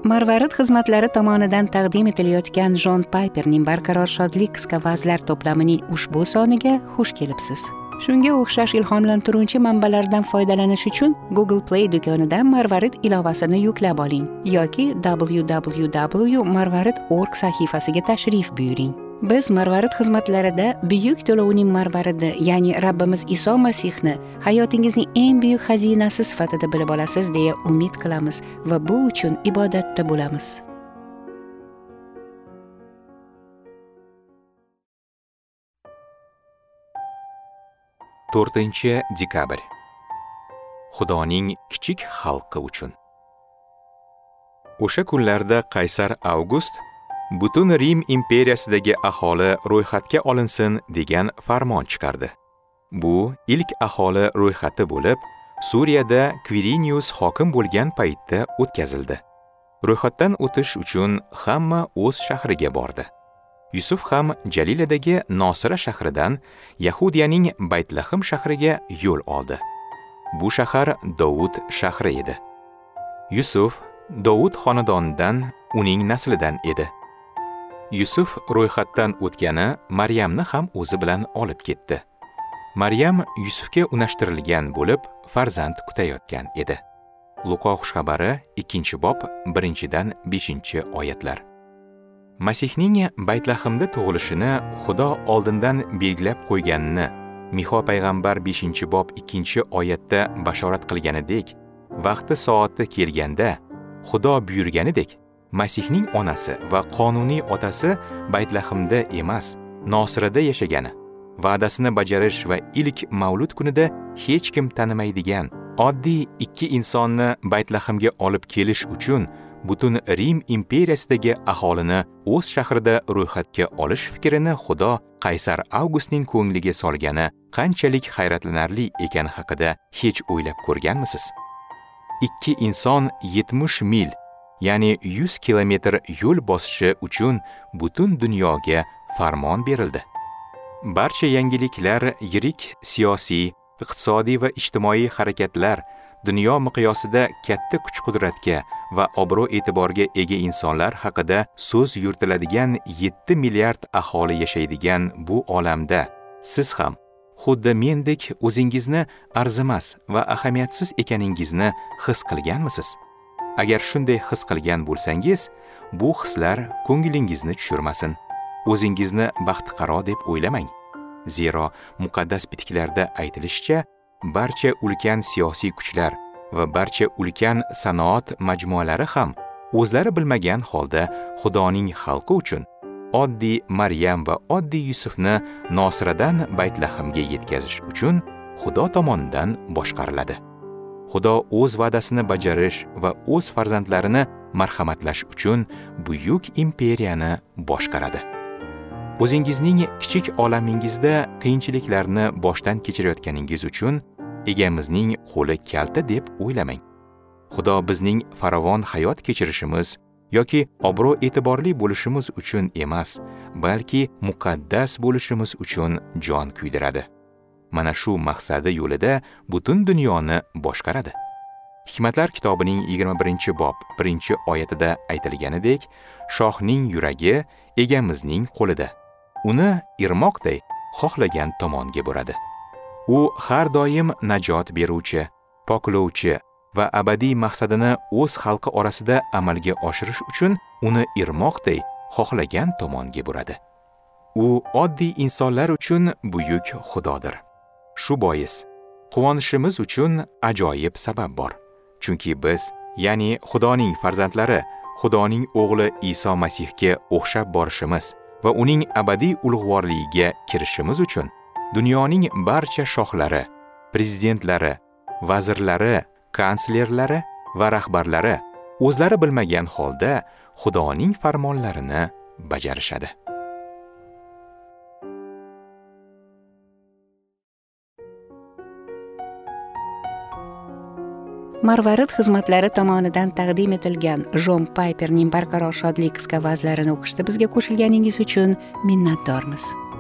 Marvarid xizmatlari tomonidan taqdim etilayotgan Jon Payperning Barqaror shodlik qisqa vazlar to'plamining ushbu soniga xush kelibsiz. Shunga o'xshash ilhomlantiruvchi manbalardan foydalanish uchun Google Play do'konidan Marvarid ilovasini yuklab oling yoki www.marvarid.org sahifasiga tashrif buyuring. Biz Marvarid xizmatlarida buyuk to'lovning marvaridi, ya'ni Rabbimiz Iso Masihni hayotingizning eng buyuk xazinasi sifatida bilib olasiz deya umid qilamiz va bu uchun ibodatda bo'lamiz. To'rtinchi dekabr. Xudoning kichik xalqi uchun. O'sha kunlarda Qaysar Avgust butun Rim imperiyasidagi aholi ro'yxatga olinsin degan farmon chiqardi. Bu ilk aholi ro'yxati bo'lib, Suriyada Quirinius hokim bo'lgan paytda o'tkazildi. Ro'yxatdan o'tish uchun hamma o'z shahriga bordi. Yusuf ham Jaliladagi Nosira shahridan Yahudiyaning Baytlahem shahriga yo'l oldi. Bu shahar Dovud shahri edi. Yusuf Dovud xonadonidan, uning naslidan edi. Yusuf ro'yxatdan o'tgani Maryamni ham o'zi bilan olib ketdi. Maryam Yusufga unashtirilgan bo'lib, farzand kutayotgan edi. Luqo xushxabari 2-bob 1-5-oyatlar. Masihning Baytlahemda tug'ilishini Xudo oldindan belgilab qo'yganini Miho payg'ambar 5-bob 2-oyatda bashorat qilganidek, vaqti soati kelganda Xudo buyurganidek, Masihning onasi va qonuniy otasi Baytlahemda emas, Nosirada yashagani, va'dasini bajarish va ilk mavlud kunida hech kim tanimaydigan oddiy ikki insonni Baytlahemga olib kelish uchun butun Rim imperiyasidagi aholini o'z shahrida ro'yxatga olish fikrini Xudo Qaysar Avgustning ko'ngliga solgani qanchalik hayratlanarli ekani haqida hech o'ylab ko'rganmisiz? Ikki inson 70 mil, ya'ni 100 kilometr yo'l bosishi uchun butun dunyoga farmon berildi. Barcha yangiliklar, yirik siyosiy, iqtisodiy va ijtimoiy harakatlar, dunyo miqyosida katta kuch-qudratga va obro'-e'tiborga ega insonlar haqida so'z yuritiladigan 7 milliard aholi yashaydigan bu olamda siz ham xuddi mendek o'zingizni arzimas va ahamiyatsiz ekaningizni his qilganmisiz? Agar shunday his qilgan bo'lsangiz, bu hislar ko'nglingizni tushirmasin. O'zingizni baxtiqaro deb o'ylamang. Zero muqaddas bitiklarda aytilishicha, barcha ulkan siyosiy kuchlar va barcha ulkan sanoat majmualari ham o'zlari bilmagan holda Xudoning xalqi uchun oddiy Maryam va oddiy Yusufni Nosiradan Baytlahemga yetkazish uchun Xudo tomonidan boshqariladi. Xudo o'z va'dasini bajarish va o'z farzandlarini marhamatlash uchun buyuk imperiyani boshqaradi. O'zingizning kichik olamingizda qiyinchiliklarni boshdan kechirayotganingiz uchun egamizning qo'li kalta deb o'ylamang. Xudo bizning farovon hayot kechirishimiz yoki obro'-e'tiborli bo'lishimiz uchun emas, balki muqaddas bo'lishimiz uchun jon kuydiradi. Mana shu maqsadi yo'lida butun dunyoni boshqaradi. Hikmatlar kitobining 21-bob 1-oyatida aytilganidek, shohning yuragi egamizning qo'lida. Uni irmoqday xohlagan tomonga buradi. U har doim najot beruvchi, poklovchi va abadiy maqsadini o'z xalqi orasida amalga oshirish uchun uni irmoqday xohlagan tomonga buradi. U oddiy insonlar uchun buyuk Xudodir. Shu bois quvonishimiz uchun ajoyib sabab bor. Chunki biz, ya'ni Xudoning farzandlari, Xudoning o'g'li Iso Masihga o'xshab borishimiz va uning abadiy ulug'vorligiga kirishimiz uchun dunyoning barcha shohlari, prezidentlari, vazirlari, kanslerlari va rahbarlari o'zlari bilmagan holda Xudoning farmonlarini bajarishadi. Marvarid xizmatlari tomonidan taqdim etilgan Jon Payperning Barqaror shodlik qisqa vazlarini o'qishda bizga qo'shilganingiz uchun minnatdormiz.